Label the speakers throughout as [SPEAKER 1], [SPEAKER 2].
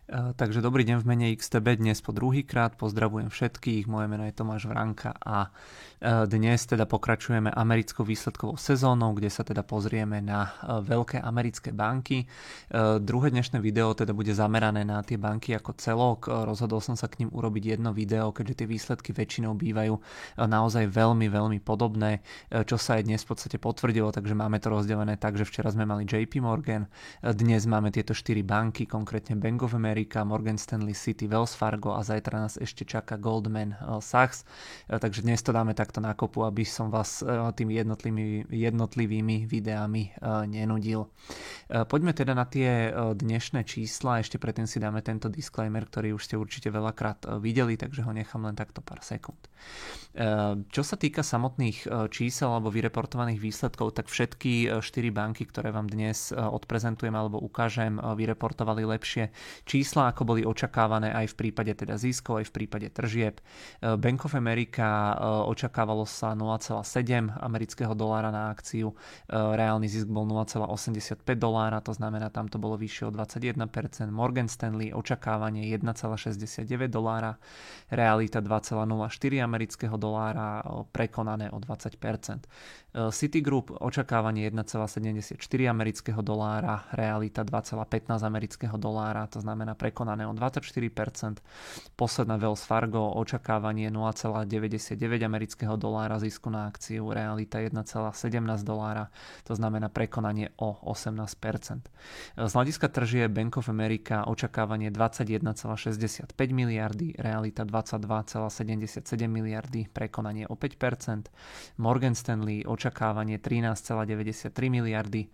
[SPEAKER 1] Takže dobrý deň v mene XTB dnes po druhýkrát. Pozdravujem všetkých, moje meno je Tomáš Vranka a dnes teda pokračujeme americkou výsledkovou sezónou, kde sa teda pozrieme na veľké americké banky. Druhé dnešné video teda bude zamerané na tie banky ako celok. Rozhodol som sa k ním urobiť jedno video, keďže tie výsledky väčšinou bývajú naozaj veľmi, veľmi podobné, čo sa aj dnes v podstate potvrdilo, takže máme to rozdelené tak, že včera sme mali JP Morgan, dnes máme tieto 4 banky, konkrétne Bank of America, Morgan Stanley, Citi, Wells Fargo a zajtra nás ešte čaká Goldman Sachs. Takže dnes to dáme takto na kopu, aby som vás tými jednotlivými videami nenudil. Poďme teda na tie dnešné čísla. Ešte predtým si dáme tento disclaimer, ktorý už ste určite veľakrát videli, takže ho nechám len takto pár sekúnd. Čo sa týka samotných čísel alebo vyreportovaných výsledkov, tak všetky 4 banky, ktoré vám dnes odprezentujem alebo ukážem, vyreportovali lepšie čísla, ako boli očakávané aj v prípade teda ziskov, aj v prípade tržieb. Bank of America očakávalo sa 0,7 amerického dolára na akciu, reálny zisk bol 0,85 dolára, to znamená, tam to bolo vyššie o 21%. Morgan Stanley očakávanie 1,69 dolára, realita 2,04 amerického dolára, prekonané o 20%. Citigroup očakávanie 1,74 amerického dolára, realita 2,15 amerického dolára, to znamená prekonané o 24%. Posledná Wells Fargo očakávanie 0,99 amerického dolára zisku na akciu, realita 1,17 dolára, to znamená prekonanie o 18%. Z hľadiska tržie Bank of America očakávanie 21,65 miliardy, realita 22,77 miliardy, prekonanie o 5%. Morgan Stanley očakávanie 13,93 miliardy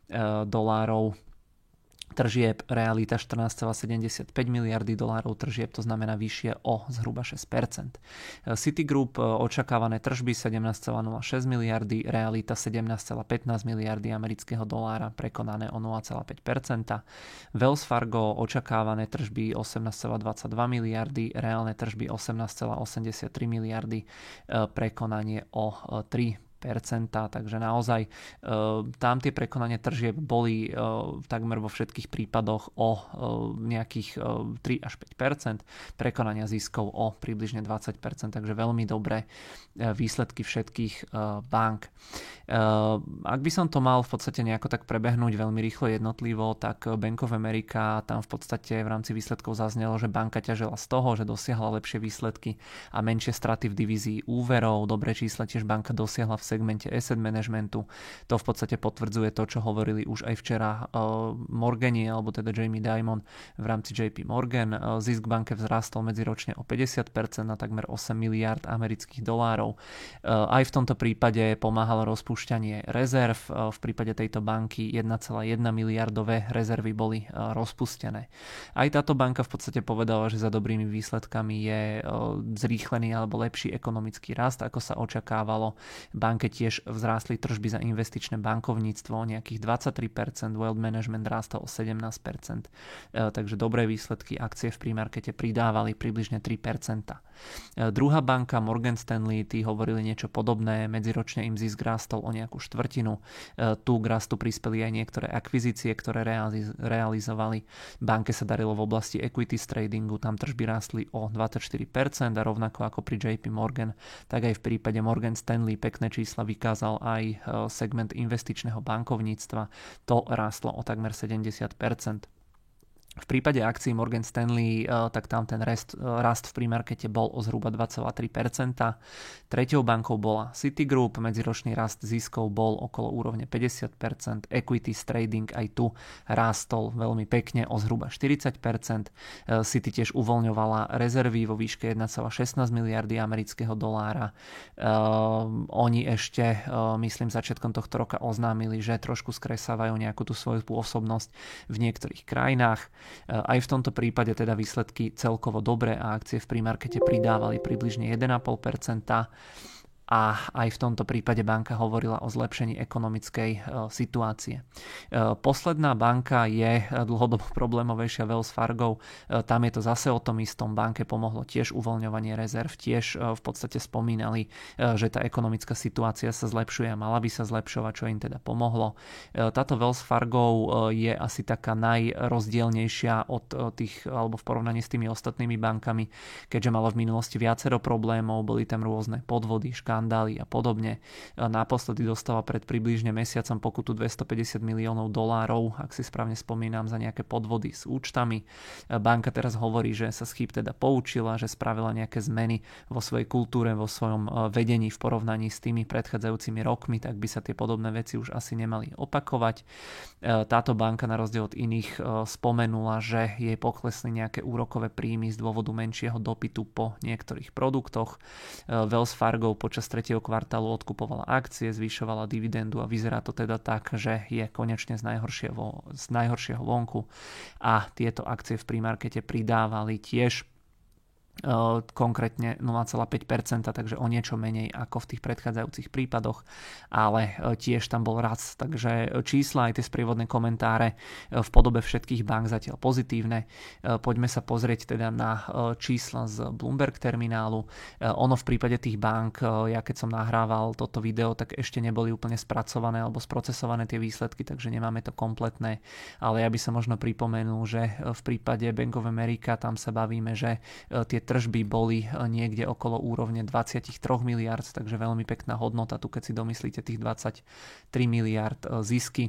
[SPEAKER 1] dolárov tržieb, realita 14,75 miliardy dolárov tržieb, to znamená vyššie o zhruba 6%. Citigroup očakávané tržby 17,06 miliardy, realita 17,15 miliardy amerického dolára, prekonané o 0,5%. Wells Fargo očakávané tržby 18,22 miliardy, reálne tržby 18,83 miliardy, prekonanie o 3%. Takže naozaj tam tie prekonanie tržieb boli takmer vo všetkých prípadoch o nejakých 3 až 5%, prekonania ziskov o približne 20%, takže veľmi dobré výsledky všetkých bank. Ak by som to mal v podstate nejako tak prebehnúť veľmi rýchlo jednotlivo, tak Bank of America, tam v podstate v rámci výsledkov zaznelo, že banka ťažila z toho, že dosiahla lepšie výsledky a menšie straty v divízii úverov. Dobré čísla tiež banka dosiahla v segmente asset managementu. To v podstate potvrdzuje to, čo hovorili už aj včera Morgani, alebo teda Jamie Dimon v rámci JP Morgan. Zisk banke vzrastol medziročne o 50% na takmer 8 miliard amerických dolárov. Aj v tomto prípade pomáhalo rozpúšťanie rezerv. V prípade tejto banky 1,1 miliardové rezervy boli rozpustené. Aj táto banka v podstate povedala, že za dobrými výsledkami je zrýchlený alebo lepší ekonomický rast, ako sa očakávalo. Banke tiež vzrástli tržby za investičné bankovníctvo o nejakých 23%, wealth management rástol o 17%, takže dobré výsledky, akcie v prímarkete pridávali približne 3%. Druhá banka Morgan Stanley, tí hovorili niečo podobné, medziročne im zisk rástol o nejakú štvrtinu. Tu k rastu prispeli aj niektoré akvizície, ktoré realizovali. Banke sa darilo v oblasti equities tradingu, tam tržby rástli o 24% a rovnako ako pri JP Morgan, tak aj v prípade Morgan Stanley pekné čísla vykázal aj segment investičného bankovníctva. To rástlo o takmer 70%. V prípade akcií Morgan Stanley, tak tam ten rast v prímarkete bol o zhruba 2,3%. Treťou bankou bola Citigroup, medziročný rast ziskov bol okolo úrovne 50%. Equities trading aj tu rástol veľmi pekne o zhruba 40%. Citi tiež uvoľňovala rezervy vo výške 1,16 miliardy amerického dolára. Oni ešte, myslím, začiatkom tohto roka oznámili, že trošku skresávajú nejakú tú svoju pôsobnosť v niektorých krajinách. Aj v tomto prípade teda výsledky celkovo dobré a akcie v prímarkete pridávali približne 1,5%. a aj v tomto prípade banka hovorila o zlepšení ekonomickej situácie. Posledná banka je dlhodobo problémovejšia, Wells Fargo. Tam je to zase o tom istom. Banke pomohlo tiež uvoľňovanie rezerv, tiež v podstate spomínali, že tá ekonomická situácia sa zlepšuje a mala by sa zlepšovať, čo im teda pomohlo. Táto Wells Fargo je asi taká najrozdielnejšia od tých, alebo v porovnaní s tými ostatnými bankami, keďže mala v minulosti viacero problémov, boli tam rôzne podvody, škandály a podobne. Naposledy dostala pred približne mesiacom pokutu $250 miliónov, ak si správne spomínam, za nejaké podvody s účtami. Banka teraz hovorí, že sa z chýb teda poučila, že spravila nejaké zmeny vo svojej kultúre, vo svojom vedení v porovnaní s tými predchádzajúcimi rokmi, tak by sa tie podobné veci už asi nemali opakovať. Táto banka na rozdiel od iných spomenula, že jej poklesli nejaké úrokové príjmy z dôvodu menšieho dopytu po niektorých produktoch. Wells Fargo počas 3. kvartálu odkupovala akcie, zvyšovala dividendu a vyzerá to teda tak, že je konečne z najhoršieho vonku a tieto akcie v premarkete pridávali tiež konkrétne 0,5%, takže o niečo menej ako v tých predchádzajúcich prípadoch, ale tiež tam bol rast, takže čísla aj tie sprievodné komentáre v podobe všetkých bank zatiaľ pozitívne. Poďme sa pozrieť teda na čísla z Bloomberg terminálu. Ono v prípade tých bank, ja keď som nahrával toto video, tak ešte neboli úplne spracované alebo sprocesované tie výsledky, takže nemáme to kompletné, ale ja by som možno pripomenul, že v prípade Bank of America tam sa bavíme, že tie tržby boli niekde okolo úrovne 23 miliard, takže veľmi pekná hodnota tu, keď si domyslíte tých 23 miliard zisky.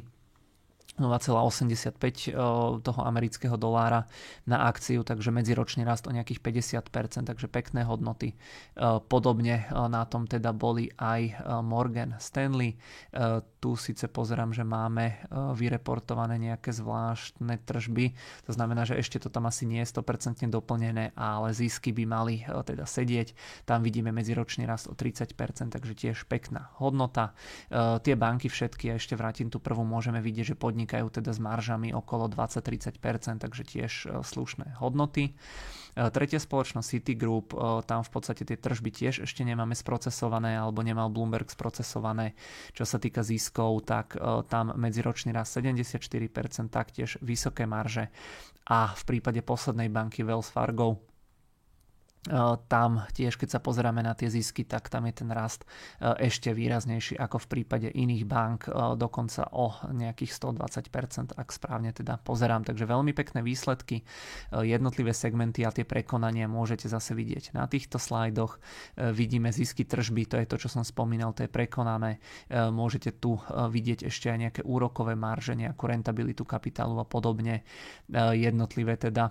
[SPEAKER 1] 0,85 toho amerického dolára na akciu, takže medziročný rast o nejakých 50%, takže pekné hodnoty. Podobne na tom teda boli aj Morgan Stanley. Tu síce pozerám, že máme vyreportované nejaké zvláštne tržby, to znamená, že ešte to tam asi nie je 100% doplnené, ale zisky by mali teda sedieť. Tam vidíme medziročný rast o 30%, takže tiež pekná hodnota. Tie banky všetky, a ešte vrátim tú prvú, môžeme vidieť, že podnikajú teda s maržami okolo 20-30%, takže tiež slušné hodnoty. Tretia spoločnosť Citigroup, tam v podstate tie tržby tiež ešte nemáme sprocesované, alebo nemal Bloomberg sprocesované. Čo sa týka ziskov, tak tam medziročný rast 74%, taktiež vysoké marže. A v prípade poslednej banky Wells Fargo, tam tiež, keď sa pozeráme na tie zisky, tak tam je ten rast ešte výraznejší ako v prípade iných bank, dokonca o nejakých 120%, ak správne teda pozerám. Takže veľmi pekné výsledky, jednotlivé segmenty a tie prekonania môžete zase vidieť na týchto slajdoch. Vidíme zisky tržby, to je to, čo som spomínal, to je prekonané. Môžete tu vidieť ešte aj nejaké úrokové marže, nejakú rentabilitu kapitálu a podobne. Jednotlivé teda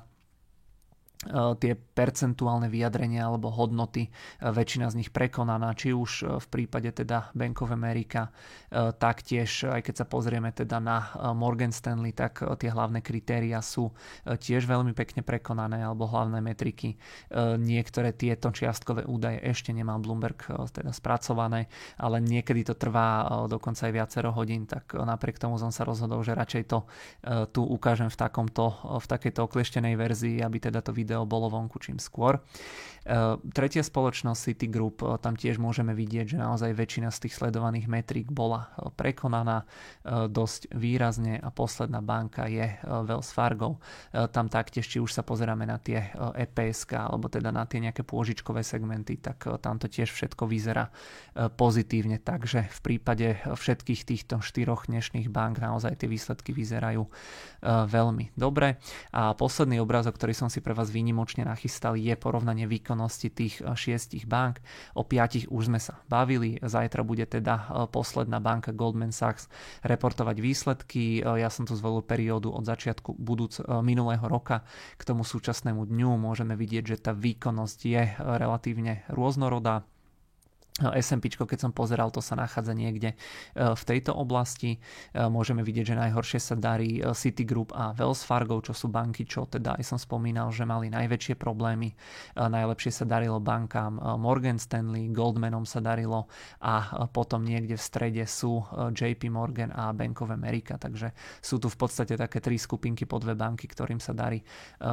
[SPEAKER 1] tie percentuálne vyjadrenia alebo hodnoty, väčšina z nich prekonaná, či už v prípade teda Bank of America, taktiež aj keď sa pozrieme teda na Morgan Stanley, tak tie hlavné kritéria sú tiež veľmi pekne prekonané, alebo hlavné metriky. Niektoré tieto čiastkové údaje ešte nemá Bloomberg teda spracované, ale niekedy to trvá dokonca aj viacero hodín, tak napriek tomu som sa rozhodol, že radšej to tu ukážem v takejto oklieštenej verzii, aby teda to video bolo vonku čím skôr. Tretia spoločnosť Citigroup, tam tiež môžeme vidieť, že naozaj väčšina z tých sledovaných metrík bola prekonaná dosť výrazne a posledná banka je Wells Fargo. Tam taktiež, či už sa pozeráme na tie EPSK alebo teda na tie nejaké pôžičkové segmenty, tak tam to tiež všetko vyzerá pozitívne, takže v prípade všetkých týchto štyroch dnešných bank naozaj tie výsledky vyzerajú veľmi dobre. A posledný obrázok, ktorý som si pre vás výnimočne nachystal, je porovnanie výkonnosti tých 6 bank. O 5 už sme sa bavili. Zajtra bude teda posledná banka Goldman Sachs reportovať výsledky. Ja som tu zvolil periódu od začiatku minulého roka k tomu súčasnému dňu. Môžeme vidieť, že tá výkonnosť je relatívne rôznorodá. S&P, keď som pozeral, to sa nachádza niekde v tejto oblasti. Môžeme vidieť, že najhoršie sa darí Citigroup a Wells Fargo, čo sú banky, čo teda aj som spomínal, že mali najväčšie problémy. Najlepšie sa darilo bankám Morgan Stanley, Goldmanom sa darilo a potom niekde v strede sú JP Morgan a Bank of America, takže sú tu v podstate také tri skupinky po dve banky, ktorým sa darí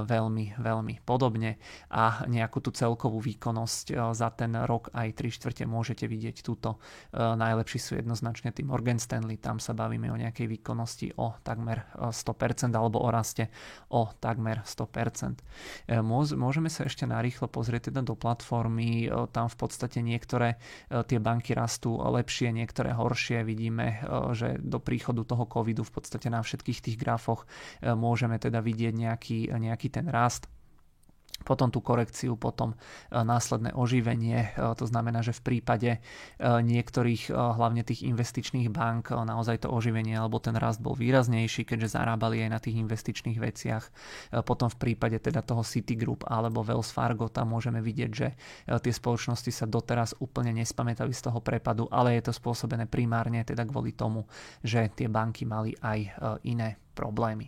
[SPEAKER 1] veľmi, veľmi podobne a nejakú tú celkovú výkonnosť za ten rok aj 3/4 môžete vidieť túto. Najlepší sú jednoznačne tí Morgan Stanley, tam sa bavíme o nejakej výkonnosti o takmer 100% alebo o raste o takmer 100%. Môžeme sa ešte narýchlo pozrieť teda do platformy, tam v podstate niektoré tie banky rastú lepšie, niektoré horšie. Vidíme, že do príchodu toho covidu v podstate na všetkých tých grafoch môžeme teda vidieť nejaký ten rast, potom tú korekciu, potom následné oživenie. To znamená, že v prípade niektorých, hlavne tých investičných bank, naozaj to oživenie alebo ten rast bol výraznejší, keďže zarábali aj na tých investičných veciach. Potom v prípade teda toho Citigroup alebo Wells Fargo, tam môžeme vidieť, že tie spoločnosti sa doteraz úplne nespamätali z toho prepadu, ale je to spôsobené primárne teda kvôli tomu, že tie banky mali aj iné problémy.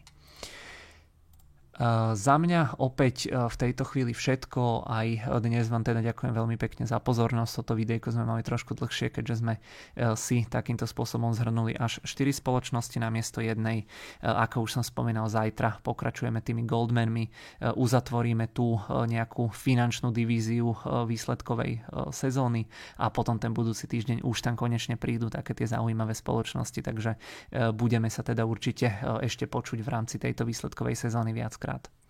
[SPEAKER 1] Za mňa opäť v tejto chvíli všetko. Aj dnes vám teda ďakujem veľmi pekne za pozornosť. Toto videjko sme mali trošku dlhšie, keďže sme si takýmto spôsobom zhrnuli až 4 spoločnosti namiesto jednej. Ako už som spomínal, zajtra pokračujeme tými Goldmanmi, uzatvoríme tú nejakú finančnú divíziu výsledkovej sezóny a potom ten budúci týždeň už tam konečne prídu také tie zaujímavé spoločnosti, takže budeme sa teda určite ešte počuť v rámci tejto výsledkovej sezóny viackrát.